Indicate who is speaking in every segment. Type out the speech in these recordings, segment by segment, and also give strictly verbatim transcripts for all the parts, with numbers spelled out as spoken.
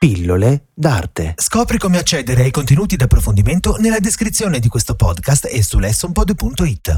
Speaker 1: Pillole d'arte.
Speaker 2: Scopri come accedere ai contenuti di approfondimento nella descrizione di questo podcast e su lessonpod punto it.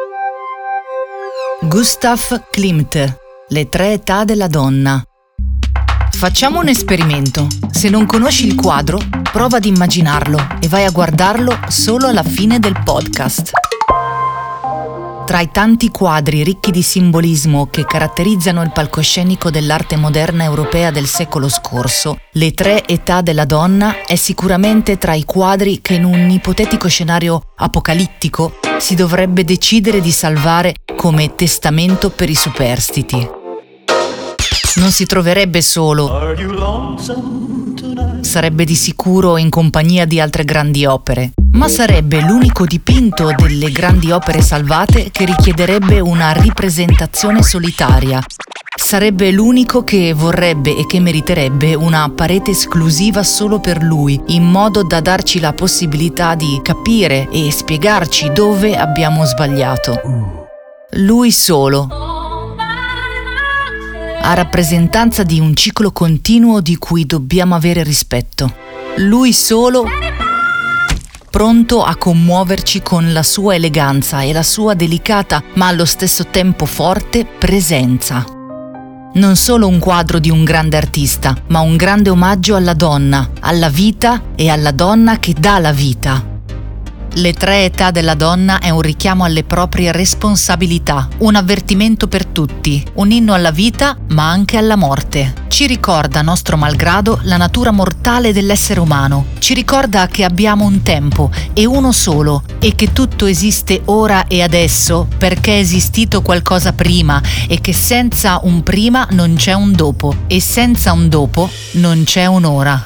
Speaker 3: Gustav Klimt, Le tre età della donna. Facciamo un esperimento. Se non conosci il quadro, prova ad immaginarlo e vai a guardarlo solo alla fine del podcast. Tra i tanti quadri ricchi di simbolismo che caratterizzano il palcoscenico dell'arte moderna europea del secolo scorso, Le tre età della donna è sicuramente tra i quadri che in un ipotetico scenario apocalittico si dovrebbe decidere di salvare come testamento per i superstiti. Non si troverebbe solo, sarebbe di sicuro in compagnia di altre grandi opere, ma sarebbe l'unico dipinto delle grandi opere salvate che richiederebbe una ripresentazione solitaria. Sarebbe l'unico che vorrebbe e che meriterebbe una parete esclusiva solo per lui, in modo da darci la possibilità di capire e spiegarci dove abbiamo sbagliato. Lui solo, a rappresentanza di un ciclo continuo di cui dobbiamo avere rispetto. Lui solo, pronto a commuoverci con la sua eleganza e la sua delicata, ma allo stesso tempo forte, presenza. Non solo un quadro di un grande artista, ma un grande omaggio alla donna, alla vita e alla donna che dà la vita. Le tre età della donna è un richiamo alle proprie responsabilità, un avvertimento per tutti, un inno alla vita ma anche alla morte. Ci ricorda, nostro malgrado, la natura mortale dell'essere umano. Ci ricorda che abbiamo un tempo e uno solo e che tutto esiste ora e adesso perché è esistito qualcosa prima e che senza un prima non c'è un dopo e senza un dopo non c'è un'ora.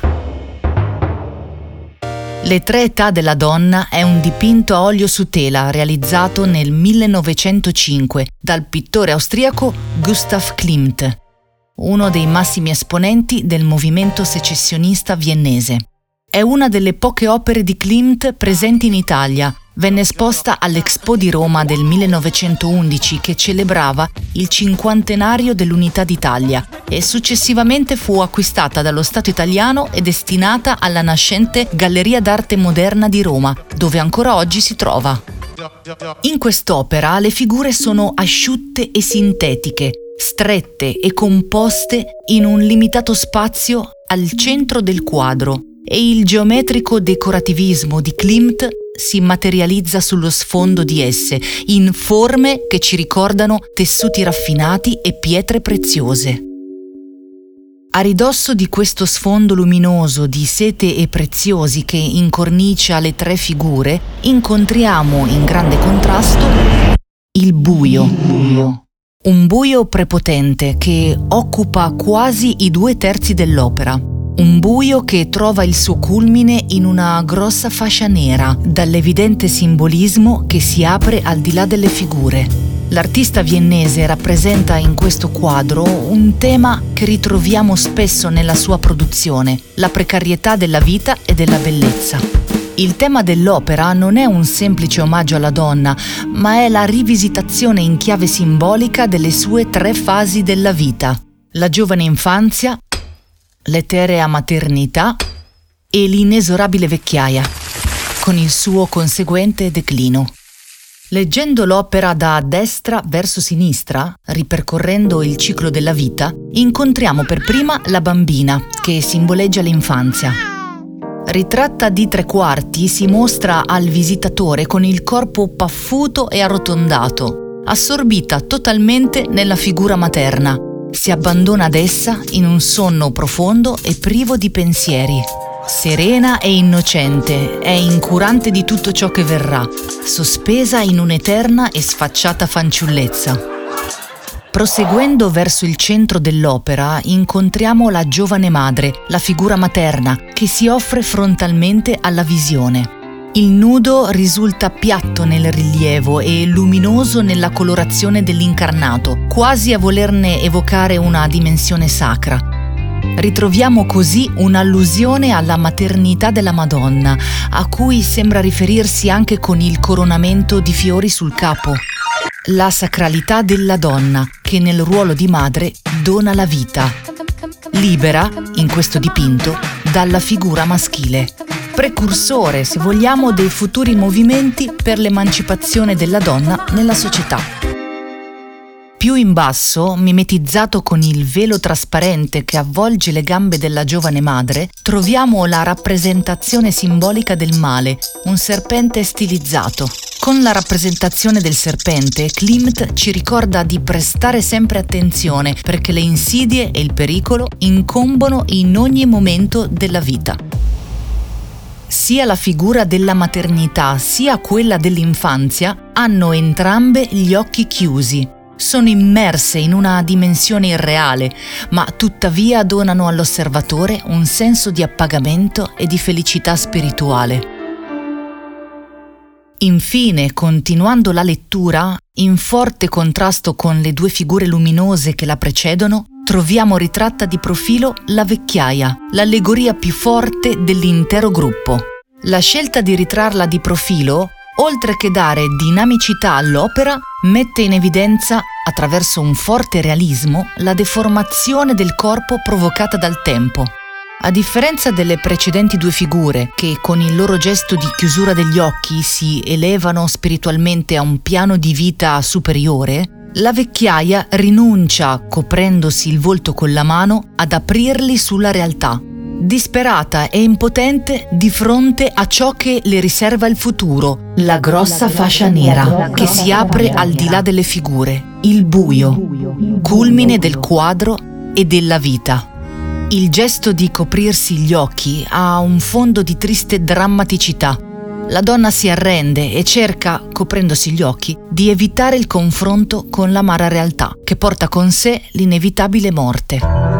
Speaker 3: Le tre età della donna è un dipinto a olio su tela realizzato nel millenovecentocinque dal pittore austriaco Gustav Klimt, uno dei massimi esponenti del movimento secessionista viennese. È una delle poche opere di Klimt presenti in Italia. Venne esposta all'Expo di Roma del millenovecentoundici che celebrava il cinquantenario dell'Unità d'Italia e successivamente fu acquistata dallo Stato italiano e destinata alla nascente Galleria d'Arte Moderna di Roma, dove ancora oggi si trova. In quest'opera le figure sono asciutte e sintetiche, strette e composte in un limitato spazio al centro del quadro, e il geometrico decorativismo di Klimt si materializza sullo sfondo di esse, in forme che ci ricordano tessuti raffinati e pietre preziose. A ridosso di questo sfondo luminoso di sete e preziosi che incornicia le tre figure, incontriamo in grande contrasto il buio. Un buio prepotente che occupa quasi i due terzi dell'opera. Un buio che trova il suo culmine in una grossa fascia nera, dall'evidente simbolismo che si apre al di là delle figure. L'artista viennese rappresenta in questo quadro un tema che ritroviamo spesso nella sua produzione, la precarietà della vita e della bellezza. Il tema dell'opera non è un semplice omaggio alla donna, ma è la rivisitazione in chiave simbolica delle sue tre fasi della vita: la giovane infanzia, l'eterea maternità e l'inesorabile vecchiaia, con il suo conseguente declino. Leggendo l'opera da destra verso sinistra, ripercorrendo il ciclo della vita, incontriamo per prima la bambina, che simboleggia l'infanzia. Ritratta di tre quarti, si mostra al visitatore con il corpo paffuto e arrotondato, assorbita totalmente nella figura materna. Si abbandona ad essa in un sonno profondo e privo di pensieri. Serena e innocente, è incurante di tutto ciò che verrà, sospesa in un'eterna e sfacciata fanciullezza. Proseguendo verso il centro dell'opera, incontriamo la giovane madre, la figura materna, che si offre frontalmente alla visione. Il nudo risulta piatto nel rilievo e luminoso nella colorazione dell'incarnato, quasi a volerne evocare una dimensione sacra. Ritroviamo così un'allusione alla maternità della Madonna, a cui sembra riferirsi anche con il coronamento di fiori sul capo. La sacralità della donna, che nel ruolo di madre dona la vita. libera, in questo dipinto, dalla figura maschile. Precursore, se vogliamo, dei futuri movimenti per l'emancipazione della donna nella società. Più in basso, mimetizzato con il velo trasparente che avvolge le gambe della giovane madre, troviamo la rappresentazione simbolica del male, un serpente stilizzato. Con la rappresentazione del serpente, Klimt ci ricorda di prestare sempre attenzione perché le insidie e il pericolo incombono in ogni momento della vita. Sia la figura della maternità sia quella dell'infanzia hanno entrambe gli occhi chiusi. Sono immerse in una dimensione irreale, ma tuttavia donano all'osservatore un senso di appagamento e di felicità spirituale. Infine, continuando la lettura, in forte contrasto con le due figure luminose che la precedono, troviamo ritratta di profilo la vecchiaia, l'allegoria più forte dell'intero gruppo. La scelta di ritrarla di profilo, oltre che dare dinamicità all'opera, mette in evidenza, attraverso un forte realismo, la deformazione del corpo provocata dal tempo. A differenza delle precedenti due figure, che con il loro gesto di chiusura degli occhi si elevano spiritualmente a un piano di vita superiore, la vecchiaia rinuncia, coprendosi il volto con la mano, ad aprirli sulla realtà. Disperata e impotente di fronte a ciò che le riserva il futuro, la grossa fascia nera che si apre al di là delle figure, il buio, culmine del quadro e della vita. Il gesto di coprirsi gli occhi ha un fondo di triste drammaticità. La donna si arrende e cerca, coprendosi gli occhi, di evitare il confronto con l'amara realtà, che porta con sé l'inevitabile morte.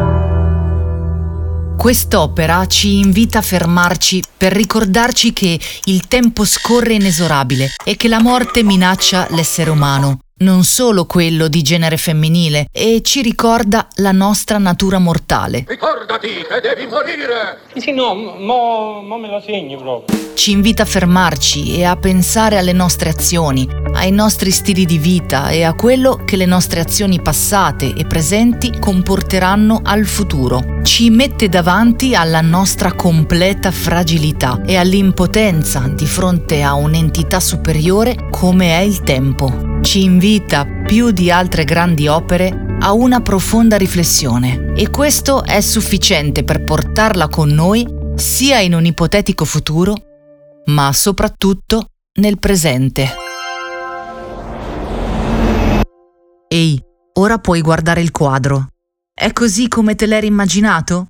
Speaker 3: Quest'opera ci invita a fermarci per ricordarci che il tempo scorre inesorabile e che la morte minaccia l'essere umano, non solo quello di genere femminile, e ci ricorda la nostra natura mortale.
Speaker 1: Ricordati che devi morire!
Speaker 4: Sì, no, mo, mo me lo segni proprio.
Speaker 3: Ci invita a fermarci e a pensare alle nostre azioni, ai nostri stili di vita e a quello che le nostre azioni passate e presenti comporteranno al futuro. Ci mette davanti alla nostra completa fragilità e all'impotenza di fronte a un'entità superiore come è il tempo. Ci invita, più di altre grandi opere, a una profonda riflessione, e questo è sufficiente per portarla con noi sia in un ipotetico futuro, ma soprattutto nel presente. Ehi, ora puoi guardare il quadro. È così come te l'eri immaginato?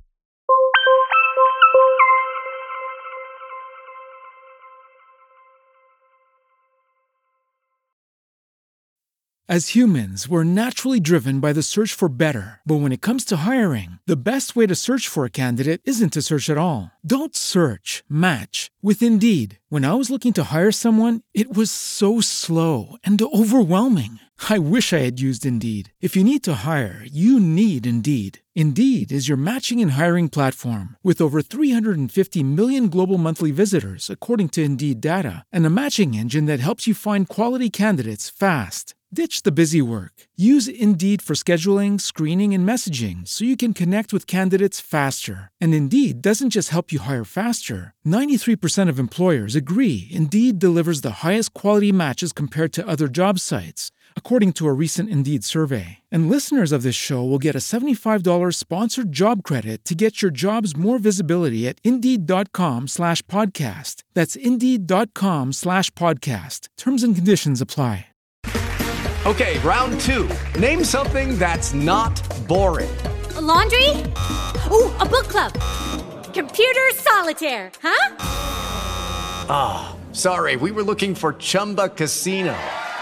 Speaker 5: As humans, we're naturally driven by the search for better. But when it comes to hiring, the best way to search for a candidate isn't to search at all. Don't search, match with Indeed. When I was looking to hire someone, it was so slow and overwhelming. I wish I had used Indeed. If you need to hire, you need Indeed. Indeed is your matching and hiring platform with over three hundred fifty million global monthly visitors, according to Indeed data, and a matching engine that helps you find quality candidates fast. Ditch the busy work. Use Indeed for scheduling, screening, and messaging so you can connect with candidates faster. And Indeed doesn't just help you hire faster. ninety-three percent of employers agree Indeed delivers the highest quality matches compared to other job sites, according to a recent Indeed survey. And listeners of this show will get a seventy-five dollars sponsored job credit to get your jobs more visibility at Indeed.com slash podcast. That's Indeed.com slash podcast. Terms and conditions apply.
Speaker 6: Okay, round two. Name something that's not boring.
Speaker 7: A laundry? Ooh, a book club. Computer solitaire, huh?
Speaker 6: Ah, oh, sorry, we were looking for Chumba Casino.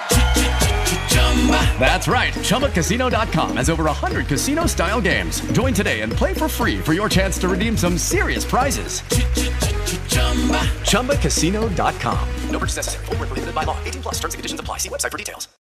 Speaker 6: That's right, Chumba Casino dot com has over one hundred casino-style games. Join today and play for free for your chance to redeem some serious prizes. Chumba Casino dot com. No purchase necessary. Void where prohibited by law. eighteen plus terms and conditions apply. See website for details.